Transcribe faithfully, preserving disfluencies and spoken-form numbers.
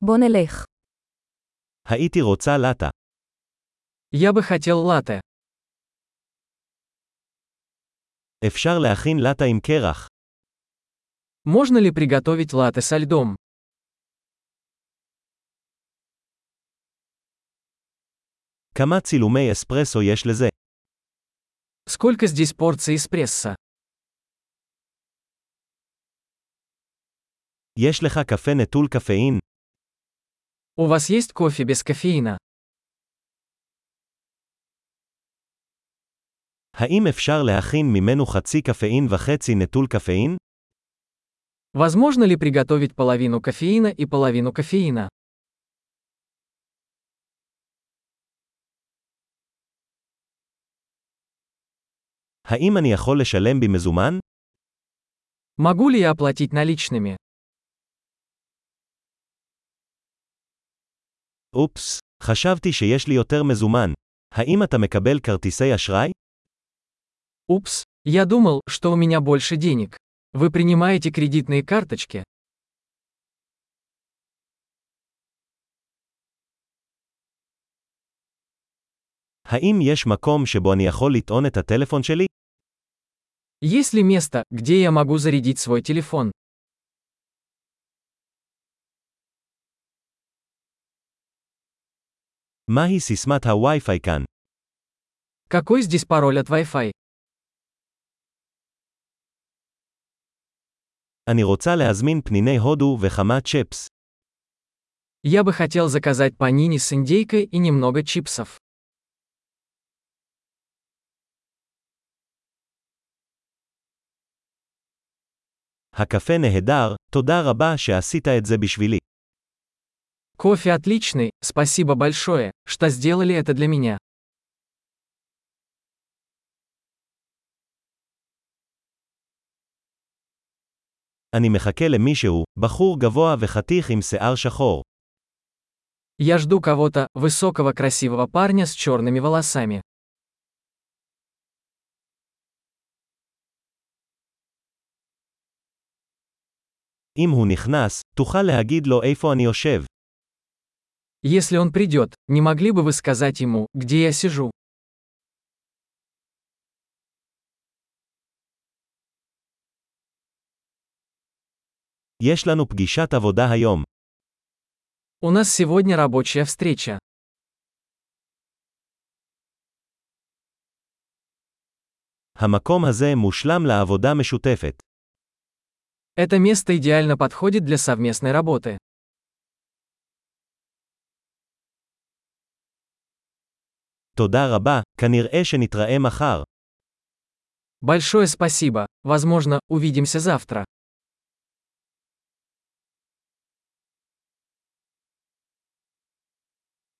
בוא נלך. הייתי רוצה לטה. Я бы хотел латте. אפשר להכין לטה עם קרח. Можно ли приготовить латте со льдом? כמה צילומי אספרסו יש לזה? Сколько здесь порций эспрессо? יש לך קפה נטול קפאין? У вас есть кофе без кофеина? האם אפשר להכין ממנו חצי קפאין וחצי נטול קפאין? Возможно ли приготовить половину кофеина и половину кофеина? האם אני יכול לשלם במזומן? Могу ли я оплатить наличными? אופס, חשבתי שיש לי יותר מזומן. האם אתה מקבל כרטיסי אשראי? Упс, я думал, что у меня больше денег. Вы принимаете кредитные карточки? האם יש מקום שבו אני יכול לטעון את הטלפון שלי? Есть ли место, где я могу зарядить свой телефон? מהי סיסמת הווי-פיי כאן? Какой здесь пароль от Wi-Fi? אני רוצה להזמין פניני הודו וכמה צ'פס. Я бы хотел заказать панини с индейкой и немного чипсов. הקפה נהדר, תודה רבה שעשית את זה בשבילי. Кофе отличный, спасибо большое, что сделали это для меня. אני מחכה למישהו, בחור גבוה וחתיך עם שיער שחור. Я жду кого-то, высокого красивого парня с черными волосами. אם הוא נכנס, תוכל להגיד לו איפה אני יושב. Если он придет, не могли бы вы сказать ему, где я сижу? יש לנו פגישת עבודה היום. У нас сегодня рабочая встреча. המקום הזה מושלם לעבודה משותפת. Это место идеально подходит для совместной работы. תודה רבה, כנראה שנתראה מחר. Большое спасибо, возможно, увидимся завтра.